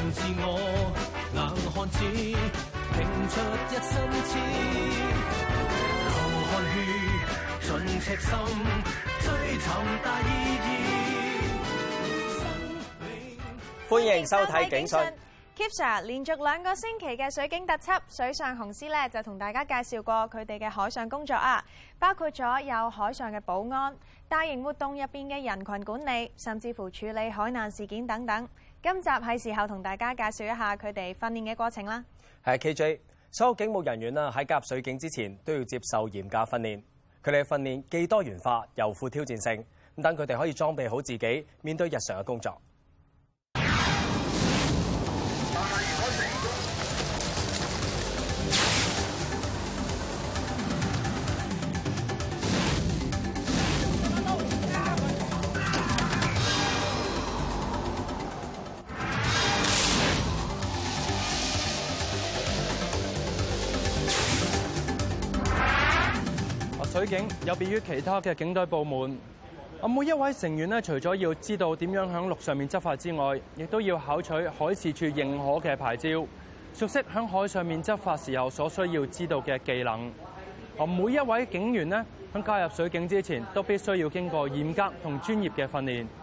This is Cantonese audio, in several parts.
自我，硬漢子拼出一身刺，流汗血盡赤心，追尋大意義。 歡迎收睇警訊。 Keep Sir 連續2個星期嘅水警特輯，水上雄獅咧就同大家介紹過佢哋嘅海上工作啊，包括咗有海上嘅保安、大型活動入邊嘅人群管理，甚至乎處理海難事件等等。今集係時候同大家介紹一下佢哋訓練嘅過程啦。 係 KJ， 所有警務人員喺加入水警之前都要接受嚴格訓練。佢哋嘅訓練既多元化又富挑戰性，咁等佢哋可以裝備好自己，面對日常嘅工作。 水警有別於其他嘅警隊部門，每一位成員除咗要知道點樣喺陸上面執法之外，亦都要考取海事處認可嘅牌照，熟悉喺海上面執法時候所需要知道嘅技能。每一位警員喺加入水警之前，都必須要經過嚴格同專業嘅訓練。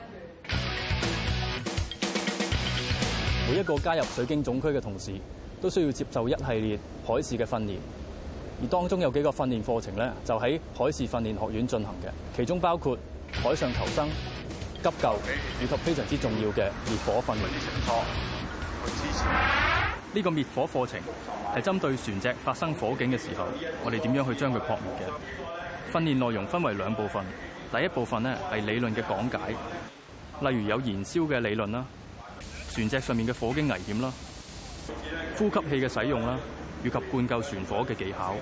每一個加入水警總區嘅同事，都需要接受一系列海事嘅訓練。而當中有幾個訓練課程咧，就喺海事訓練學院進行嘅，其中包括海上求生、急救以及非常之重要嘅滅火訓練。呢個滅火課程係針對船隻發生火警嘅時候，我哋點樣去將佢撲滅嘅。訓練內容分為2部分，第一部分咧係理論嘅講解，例如有燃燒嘅理論啦、船隻上面嘅火警危險啦、呼吸器嘅使用啦，以及灌救船火嘅技巧。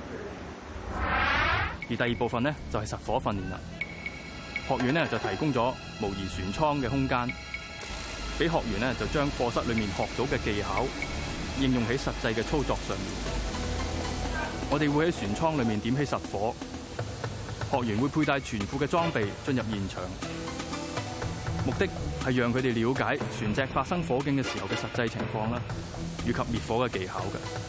而第2部分呢，就係實火訓練啦。學院呢，就提供咗模擬船艙嘅空間，俾學員呢，就將課室裏面學到嘅技巧應用喺實際嘅操作上面。我哋會喺船艙裏面點起實火，學員會佩戴全副嘅裝備進入現場，目的係讓佢哋了解船隻發生火警嘅時候嘅實際情況啦，以及滅火嘅技巧嘅。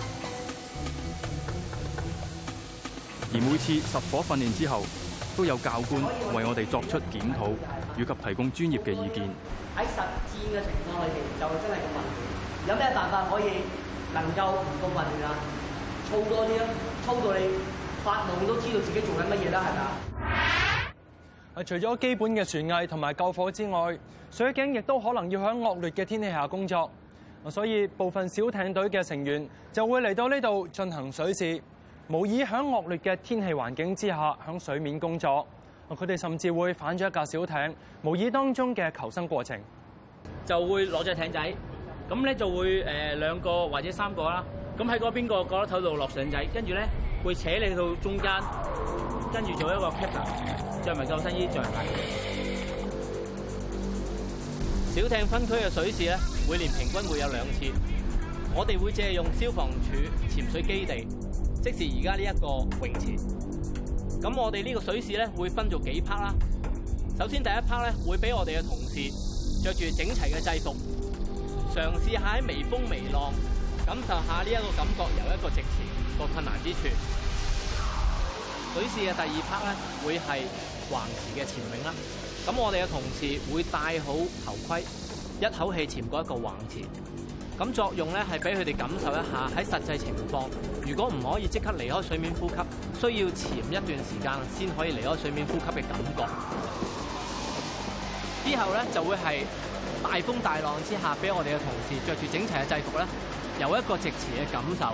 而每次實火訓練之後，都有教官為我哋作出檢討，以及提供專業嘅意見。 喺實戰嘅情況裏邊，就真係咁混亂。有咩辦法可以能夠唔咁混亂啊？操多啲啊，操到你發夢都知道自己做緊乜嘢啦，係咪？ 除咗基本嘅船藝同埋救火之外，水警亦都可能要喺惡劣嘅天氣下工作。所以部分小艇隊嘅成員就會嚟到呢度進行水試，模擬喺惡劣嘅天氣環境之下喺水面工作。佢哋甚至會反咗一架小艇，模擬當中嘅求生過程。 就會攞隻艇仔，咁咧就會2個或者3個啦。咁喺嗰邊個角落頭度落繩仔，跟住咧會扯你到中間，跟住做一個 captain， 着埋救生衣，着埋。小艇分區嘅水試咧，每年平均會有2次。我哋會借用消防處潛水基地，即是而家呢一個泳池。咁我哋呢個水試咧會分做幾 part 啦。首先第一 part 咧會俾我哋嘅同事着住整齊嘅制服，嘗試下喺微風微浪感受下呢一個感覺，由一個直前個困難之處。水試嘅第2 part 咧會係橫池嘅潛泳啦。咁我哋嘅同事會戴好頭盔，一口氣潛過一個橫池。咁作用咧係俾佢哋感受一下喺實際情況，如果唔可以即刻離開水面呼吸，需要潛一段時間先可以離開水面呼吸嘅感覺。之後咧就會係大風大浪之下，俾我哋嘅同事着住整齊嘅制服咧，有一個直池嘅感受。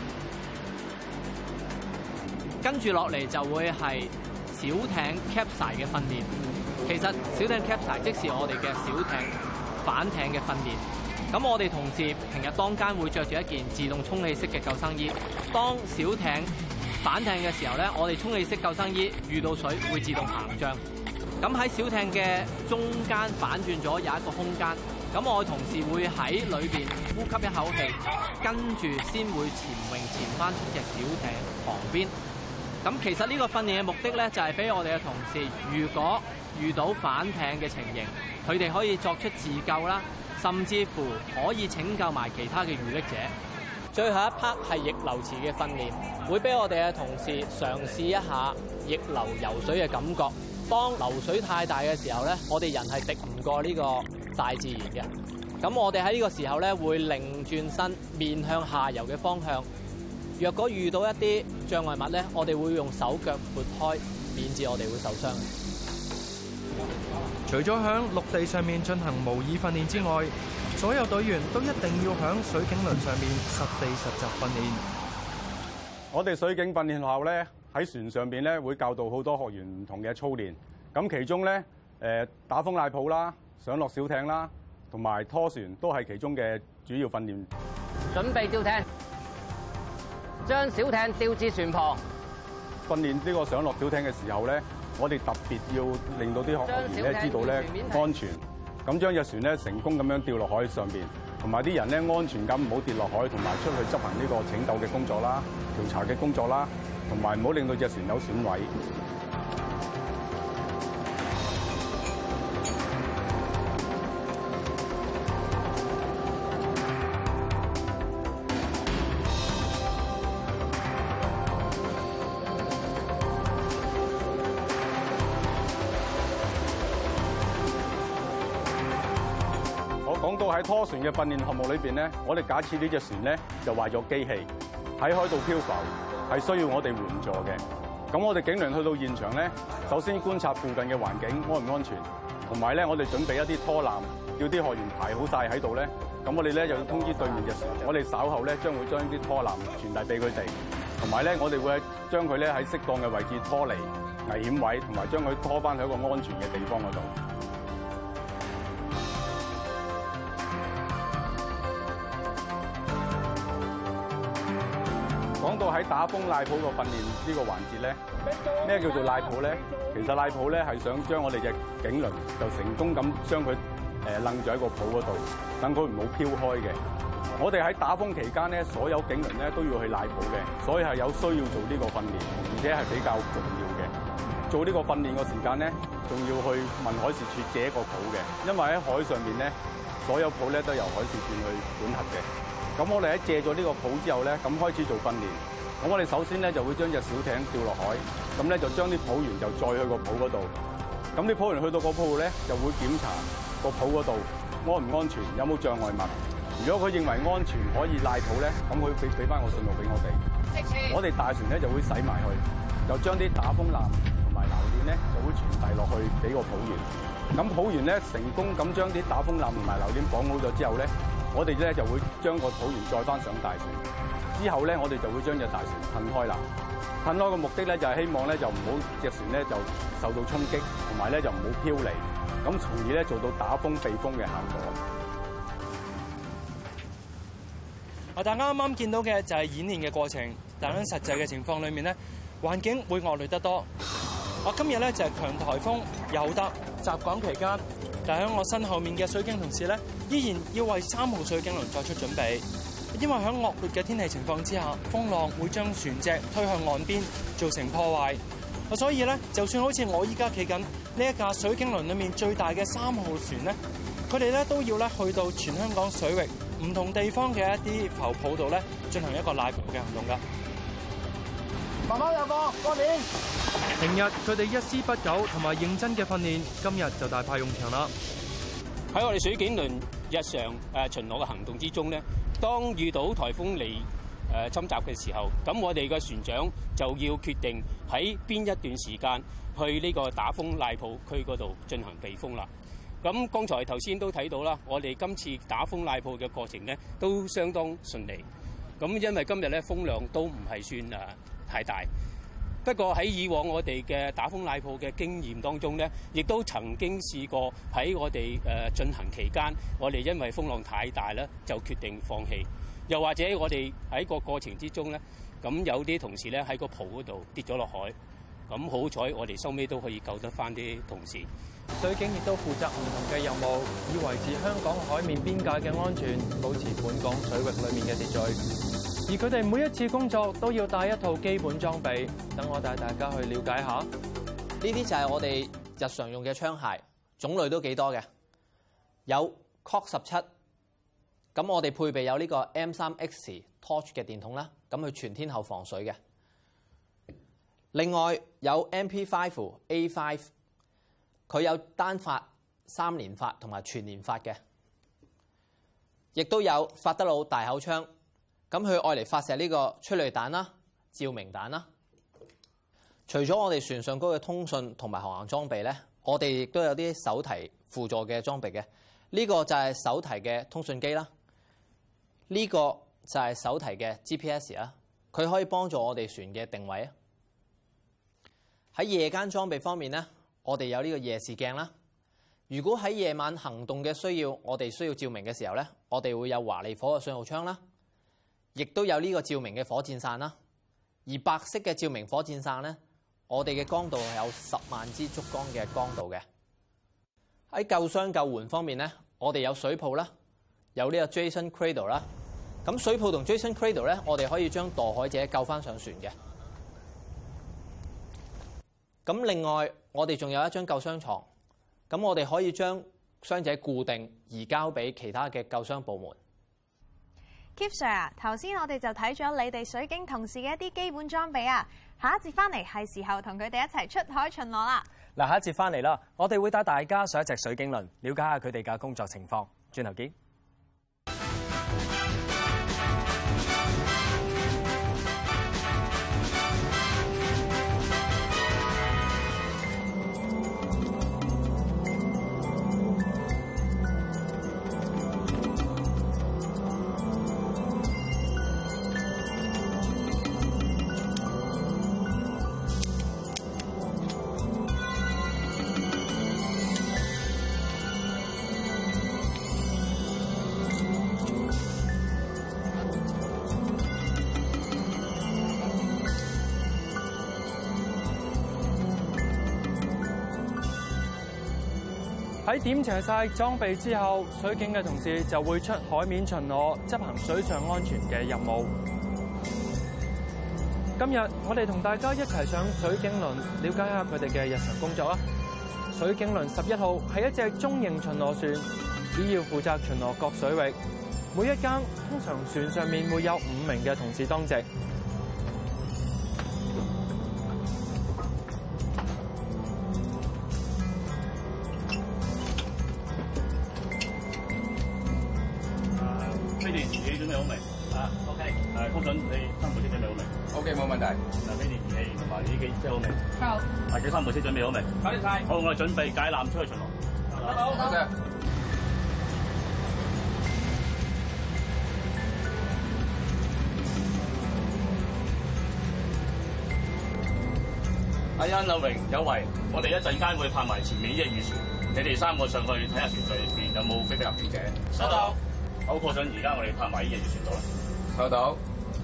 跟住落嚟就會係小艇 capsize 嘅訓練。其實小艇 capsize 即是我哋嘅小艇反艇嘅訓練。咁我哋同事平日當間會着住一件自動充氣式嘅救生衣。當小艇反艇嘅時候咧，我哋充氣式救生衣遇到水會自動膨脹。咁喺小艇嘅中間反轉咗有一個空間，咁我嘅同事會喺裏邊呼吸一口氣，跟住先會潛翻出隻小艇旁邊。咁其實呢個訓練嘅目的咧，就係俾我哋嘅同事，如果遇到反艇嘅情形，佢哋可以作出自救啦， 甚至乎可以拯救埋其他嘅遇溺者。最後一 part 係逆流池嘅訓練，會俾我哋嘅同事嘗試一下逆流游水嘅感覺。當流水太大嘅時候咧，我哋人係敵唔過呢個大自然嘅。咁我哋喺呢個時候咧，會擰轉身面向下游嘅方向。若果遇到一啲障礙物咧，我哋會用手腳撥開，免致我哋會受傷。 除咗響陸地上面進行模擬訓練之外，所有隊員都一定要響水警輪上面實地實習訓練。 我哋水警訓練學校咧，喺船上邊咧會教導好多學員唔同嘅操練。咁其中咧打風賴泡啦、上落小艇啦，同埋拖船都係其中嘅主要訓練。 準備吊艇，將小艇吊至船旁。 訓練呢個上落小艇嘅時候咧，我哋特別要令到啲學員咧知道咧安全，咁將隻船咧成功咁樣掉落海上邊，同埋啲人咧安全咁唔好跌落海，同埋出去執行呢個拯救嘅工作啦、調查嘅工作啦，同埋唔好令到隻船有損毀。講到喺拖船嘅訓練項目裏邊咧，我哋假設呢隻船咧就壞咗機器喺海度漂浮，係需要我哋援助嘅。咁我哋警員去到現場咧，首先觀察附近嘅環境安唔安全，同埋咧我哋準備一啲拖纜，叫啲學員排好晒喺度咧。咁我哋咧就要通知對面嘅船，我哋稍後咧將會將啲拖纜傳遞俾佢哋，同埋咧我哋會將佢咧喺適當嘅位置拖離危險位，同埋將佢拖翻去一個安全嘅地方嗰度。講到喺打風賴泡個訓練呢個環節咧，咩叫做賴泡咧？其實賴泡咧係想將我哋隻警輪就成功咁將佢楞住喺個泡嗰度，等佢唔好飄開嘅。我哋喺打風期間咧，所有警輪咧都要去賴泡嘅，所以係有需要做呢個訓練，而且係比較重要嘅。做呢個訓練個時間咧，仲要去問海事處借一個泡嘅，因為喺海上面咧，所有泡咧都由海事處去管轄嘅。咁我哋喺借咗呢個泡之後咧，咁開始做訓練。咁我哋首先咧就會將隻小艇掉落海，咁咧就將啲泡員就載去個泡嗰度。咁啲泡員去到個泡咧，就會檢查個泡嗰度安唔安全，有冇障礙物。如果佢認為安全可以賴泡咧，咁佢俾翻個信號俾我哋。我哋大船咧就會駛埋去，就將啲打風纜同埋纜鏈咧就會傳遞落去俾個泡員。咁泡員咧成功咁將啲打風纜同埋纜鏈綁好咗之後咧，我哋咧就會將個泡員載翻上大船，之後咧我哋就會將隻大船褪開啦。褪開嘅目的咧就係希望咧就唔好隻船咧就受到衝擊，同埋咧就唔好飄離，咁從而咧做到打風避風嘅效果。 大家啱啱見到嘅就係演練嘅過程，但喺實際嘅情況裏面咧，環境會惡劣得多。我今日咧就係強颱風尤達襲港期間。但喺我身後面嘅水警同事咧，依然要為3號水警輪作出準備，因為喺惡劣嘅天氣情況之下，風浪會將船隻推向岸邊，造成破壞。所以咧，就算好似我依家企緊呢一架水警輪裏面最大嘅3號船咧，佢哋咧都要咧去到全香港水域唔同地方嘅一啲浮泡度咧，進行一個賴泡嘅行動㗎。 慢慢有個過年。 平日佢哋一絲不苟同埋認真嘅訓練，今日就大派用場啦。 喺我哋水警輪日常巡邏嘅行動之中咧，當遇到颱風嚟侵襲嘅時候，咁我哋嘅船長就要決定喺邊一段時間去呢個打風賴泡區嗰度進行避風啦。咁剛才頭先都睇到啦，我哋今次打風賴泡嘅過程咧都相當順利。咁因為今日咧風量都唔係算太大。不過喺以往我哋嘅打風賴泡嘅經驗當中咧，亦都曾經試過喺我哋進行期間，我哋因為風浪太大咧，就決定放棄。又或者我哋喺個過程之中咧，咁有啲同事咧喺個泡嗰度跌咗落海，咁好彩我哋收尾都可以救得翻啲同事。 水警亦都負責唔同嘅任務，以維持香港海面邊界嘅安全，保持本港水域裏面嘅秩序。而佢哋每一次工作都要帶一套基本裝備，等我帶大家去了解下。 呢啲就係我哋日常用嘅槍械，種類都幾多嘅，有 Cock17，咁我哋配備有呢個 M3X Torch 嘅電筒啦，咁佢全天候防水嘅。另外有 MP5 A5， 佢有單發、3連發同埋全連發嘅，亦都有法德魯大口槍，咁佢愛嚟發射呢個催淚彈啦、照明彈啦。除咗我哋船上高嘅通訊同埋航行裝備咧，我哋亦都有啲手提輔助嘅裝備嘅。呢個就係手提嘅通訊機啦，呢個就係手提嘅 GPS 啦，佢可以幫助我哋船嘅定位啊。喺夜間裝備方面咧，我哋有呢個夜視鏡啦。如果喺夜晚行動嘅需要，我哋需要照明嘅時候咧，我哋會有華利火嘅信號槍啦，亦都有呢個照明嘅火箭傘啦。而白色嘅照明火箭傘咧，我哋嘅光度係有10萬支燭光嘅光度嘅。喺救傷救援方面咧，我哋有水泡啦，有呢個 Jason Cradle 啦。咁水泡同 Jason Cradle 咧，我哋可以將墮海者救翻上船嘅。咁另外，我哋仲有一張救傷床，咁我哋可以將傷者固定移交俾其他嘅救傷部門。 Keep Sir 啊，頭先我哋就睇咗你哋水警同事嘅一啲基本裝備啊，下一節翻嚟係時候同佢哋一齊出海巡邏啦。 嗱，下一節翻嚟啦，我哋會帶大家上一隻水警輪，了解下佢哋嘅工作情況。轉頭見。 喺點齊晒裝備之後，水警嘅同事就會出海面巡邏，執行水上安全嘅任務。今日我哋同大家一齊上水警輪，了解下佢哋嘅日常工作啊！水警輪11號係一隻中型巡邏船，主要負責巡邏各水域。每一更通常船上面會有5名嘅同事當值。 通訊你3部車準備好未 ？OK， 冇問題。嗱，飛電儀器同埋呢機車好未？好。或者3部車準備好未？搞掂晒。好，我哋準備解纜出去巡邏。好，多謝。阿欣、阿榮、有為，我哋一陣間會拍埋前面呢隻漁船，你哋3個上去睇下船上邊有冇非法入境者。收到。好，過陣而家我哋拍埋呢隻漁船度啦。收到。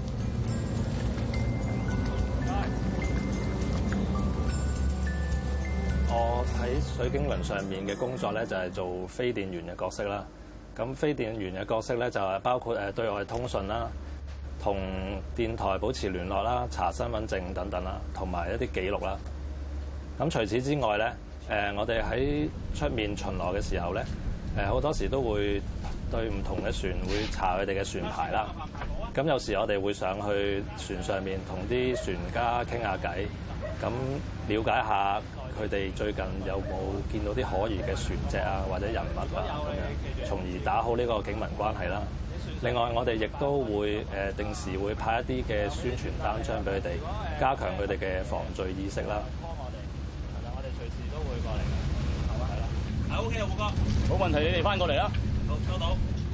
我喺水警輪上面嘅工作咧，就係做飛電員嘅角色啦。咁飛電員嘅角色咧，就係包括對外通訊啦，同電台保持聯絡啦，查身份證等等啦，同埋一啲記錄啦。咁除此之外咧，我哋喺出面巡邏嘅時候咧，好多時都會對唔同嘅船會查佢哋嘅船牌啦。咁有時我哋會上去船上面同啲船家傾下偈，咁了解下佢哋最近有冇見到啲可疑嘅船隻啊，或者人物啊咁樣，從而打好呢個警民關係啦。另外，我哋亦都會定時會派一啲嘅宣傳單張俾佢哋，加強佢哋嘅防罪意識啦。 係啦，我哋隨時都會過嚟嘅。係嘛？係啦。 係 OK 啊，胡哥。冇問題，你哋翻過嚟啦。好，收到。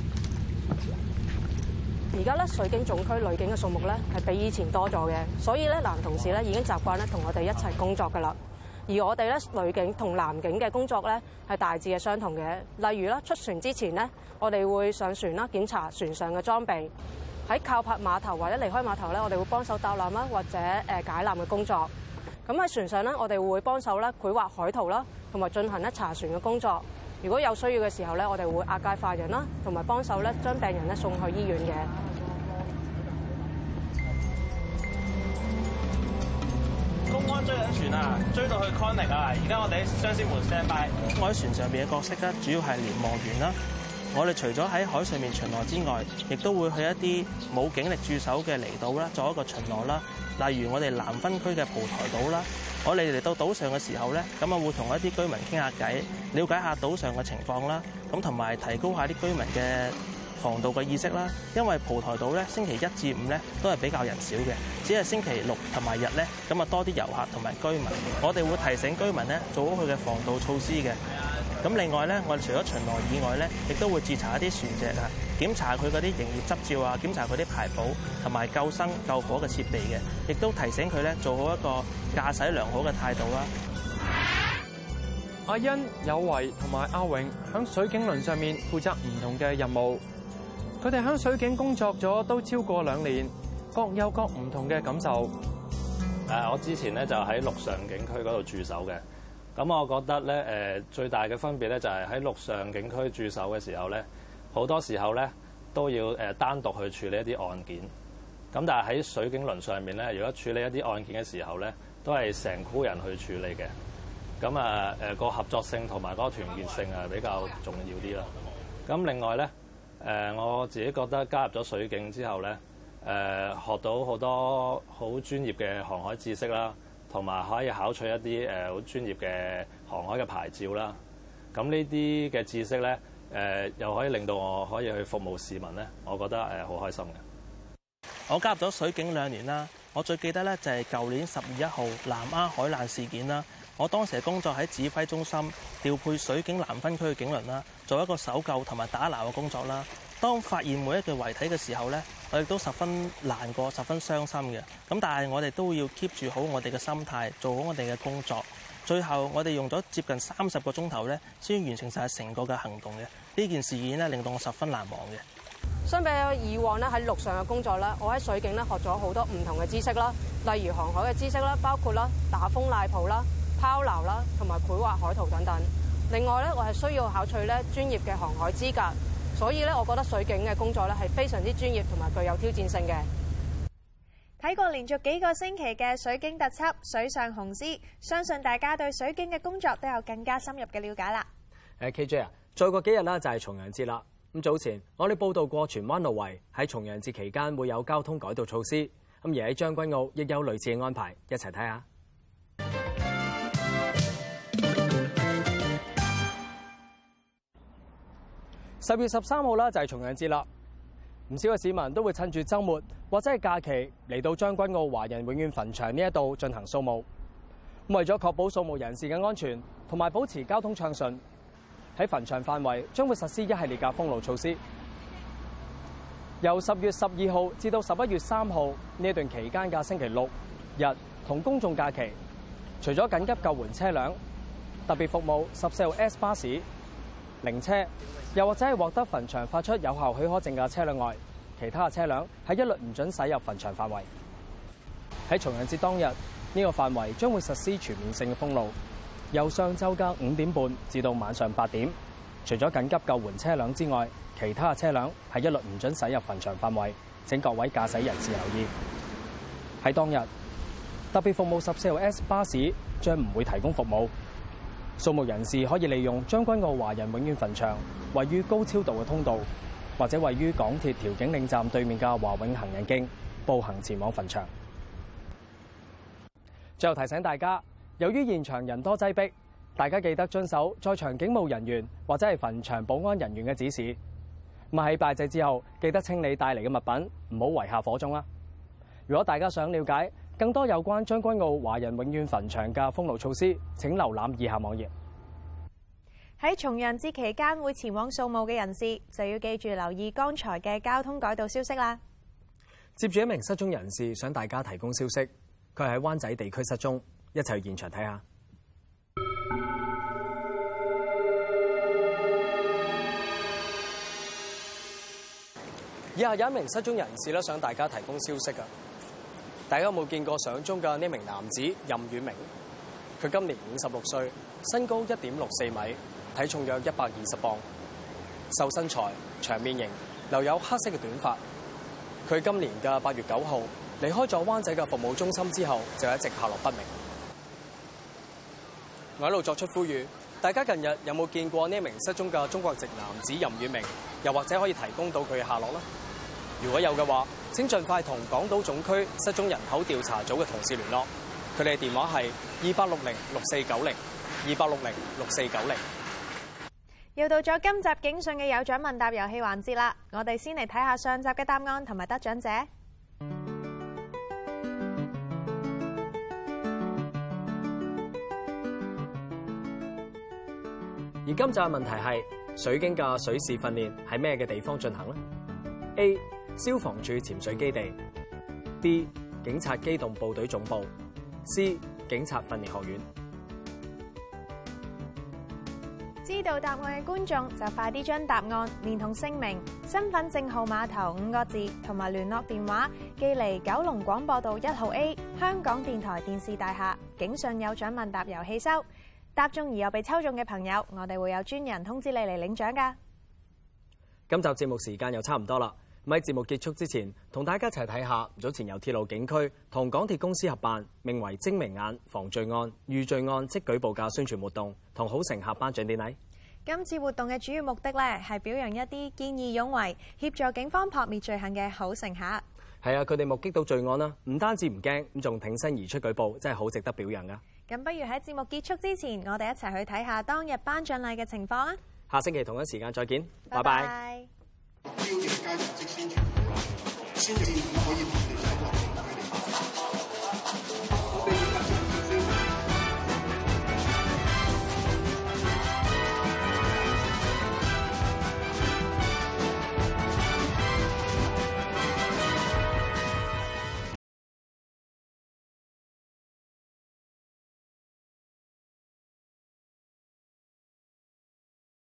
而家咧水警總區女警嘅數目咧係比以前多咗嘅，所以咧男同事咧已經習慣咧同我哋一齊工作㗎啦。而我哋咧女警同男警嘅工作咧係大致係相同嘅。例如啦，出船之前咧，我哋會上船啦，檢查船上嘅裝備；喺靠泊碼頭或者離開碼頭咧，我哋會幫手搭纜啦，或者解纜嘅工作。咁喺船上咧，我哋會幫手咧繪畫海圖啦，同埋進行咧查船嘅工作。如果有需要嘅時候咧，我哋會押解犯人啦，同埋幫手咧將病人咧送去醫院嘅。 公安追緊船啊，追到去 Connick 啊！而家我哋喺雙星門 stand by。我喺船上邊嘅角色咧，主要係瞭望員啦， 我哋除咗喺海上面巡邏之外，亦都會去一啲冇警力駐守嘅離島啦，作一個巡邏啦。例如我哋南分區嘅蒲台島啦，我哋嚟到島上嘅時候咧，咁啊會同一啲居民傾下偈，了解下島上嘅情況啦，咁同埋提高下啲居民嘅防盜嘅意識啦。因為蒲台島咧星期一至五咧都係比較人少嘅，只係星期六同埋日咧咁啊多啲遊客同埋居民。我哋會提醒居民咧做好佢嘅防盜措施嘅。咁另外咧，我哋除咗巡邏以外咧，亦都會截查一啲船隻啊，檢查佢嗰啲營業執照啊，檢查佢啲牌簿同埋救生救火嘅設備嘅，亦都提醒佢咧做好一個駕駛良好嘅態度啦。 阿欣、有為同埋阿永喺水警輪上面負責唔同嘅任務，佢哋喺水警工作咗都超過2年，各有各唔同嘅感受。 我之前咧就喺陸上警區嗰度駐守嘅。咁我覺得咧，最大嘅分別咧就係喺陸上警區駐守嘅時候咧，好多時候咧都要單獨去處理一啲案件。咁但係喺水警輪上面咧，如果處理一啲案件嘅時候咧，都係成箍人去處理嘅。咁個合作性同埋嗰個團結性係比較重要啲啦。咁另外咧，我自己覺得加入咗水警之後咧，學到好多好專業嘅航海知識啦。同埋可以考取一啲好專業嘅航海嘅牌照啦。咁呢啲嘅知識咧，又可以令到我可以去服務市民咧，我覺得好開心嘅。 我加入咗水警2年啦，我最記得咧就係舊年10月1號南丫海難事件啦。我當時工作喺指揮中心，調配水警南分區嘅警輪啦，做一個搜救同埋打撈嘅工作啦。當發現每一具遺體嘅時候咧，我哋都十分難過、十分傷心嘅。咁但係我哋都要 keep 住好我哋嘅心態，做好我哋嘅工作。最後我哋用咗接近30個鐘頭咧，先完成晒成個嘅行動嘅。呢件事件咧令到我十分難忘嘅。 相比以往咧喺陸上嘅工作咧，我喺水警咧學咗好多唔同嘅知識啦，例如航海嘅知識啦，包括啦打風賴泡啦、拋錨啦，同埋繪畫海圖等等。另外咧，我係需要考取咧專業嘅航海資格。所以咧，我覺得水警嘅工作咧係非常之專業同埋具有挑戰性嘅。 睇過連續幾個星期嘅水警特輯《水上雄獅》，相信大家對水警嘅工作都有更加深入嘅了解啦。 KJ 啊，再過幾日啦就係重陽節啦。咁早前我哋報道過荃灣路圍喺重陽節期間會有交通改道措施，咁而喺將軍澳亦有類似嘅安排，一齊睇下。10月13號啦，就係重陽節啦。唔少嘅市民都會趁住週末或者係假期嚟到將軍澳華人永遠墳場呢一度進行掃墓。為咗確保掃墓人士嘅安全同埋保持交通暢順，喺墳場範圍將會實施一系列嘅封路措施。由10月12號至到11月3號呢一段期間嘅星期六日同公眾假期，除咗緊急救援車輛、特別服務14號 S 巴士、靈車，又或者係獲得墳場發出有效許可證嘅車輛外，其他嘅車輛係一律唔准駛入墳場範圍。喺重陽節當日，呢個範圍將會實施全面性嘅封路，由上晝嘅5點半至到晚上8點。除咗緊急救援車輛之外，其他嘅車輛係一律唔准駛入墳場範圍。請各位駕駛人士留意。喺當日，特別服務14號 S 巴士將唔會提供服務。掃墓人士可以利用將軍澳華人永遠墳場位於高超道嘅通道，或者位於港鐵調景嶺站對面嘅華永行人徑步行前往墳場。最後提醒大家，由於現場人多擠迫，大家記得遵守在場警務人員或者係墳場保安人員嘅指示。咁喺拜祭之後，記得清理帶嚟嘅物品，唔好遺下火種啦。如果大家想了解更多有關將軍澳華人永遠墳場嘅封路措施，請瀏覽以下網頁。 喺重陽節期間會前往掃墓嘅人士，就要記住留意剛才嘅交通改道消息啦。 接住一名失蹤人士想大家提供消息，佢係喺灣仔地區失蹤，一齊去現場睇下。以下有一名失蹤人士想大家提供消息㗎。大家有冇見過相中嘅呢名男子任遠明？佢今年56歲，身高1.64米，體重約120磅，瘦身材，長面型，留有黑色嘅短髮。佢今年嘅8月9號離開咗灣仔嘅服務中心之後，就一直下落不明。我喺度作出呼籲， 大家近日有冇見過呢一名失蹤嘅中國籍男子任宇明？又或者可以提供到佢嘅下落呢？如果有嘅話，請盡快同港島總區失蹤人口調查組嘅同事聯絡。佢哋嘅電話係28606490，28606490。 又到咗今集警訊嘅有獎問答遊戲環節啦！我哋先嚟睇下上集嘅答案同埋得獎者。 而今集嘅問題係水警嘅水事訓練喺咩嘅地方進行呢？ A. 消防處潛水基地 B. 警察機動部隊總部 C. 警察訓練學院。 知道答案嘅觀眾就快啲將答案連同姓名、身份證號碼頭5個字同埋聯絡電話寄嚟九龍廣播道1號 A 香港電台電視大廈警訊有獎問答遊戲收。答中而又被抽中嘅朋友，我哋會有專人通知你嚟領獎㗎。 今集節目時間又差唔多啦，喺節目結束之前，同大家一齊睇下早前由鐵路警區同港鐵公司合辦，名為精明眼防罪案、遇罪案即舉報嘅宣傳活動同好乘客頒獎典禮。 今次活動嘅主要目的咧，係表揚一啲見義勇為、協助警方撲滅罪行嘅好乘客。 係啊，佢哋目擊到罪案啦，唔單止唔驚，咁仲挺身而出舉報，真係好值得表揚噶。 咁不如喺節目結束之前，我哋一齊去睇下當日頒獎禮嘅情況啊！ 下星期同一時間再見，拜拜。 標嘅街頭即宣傳，宣傳可以同你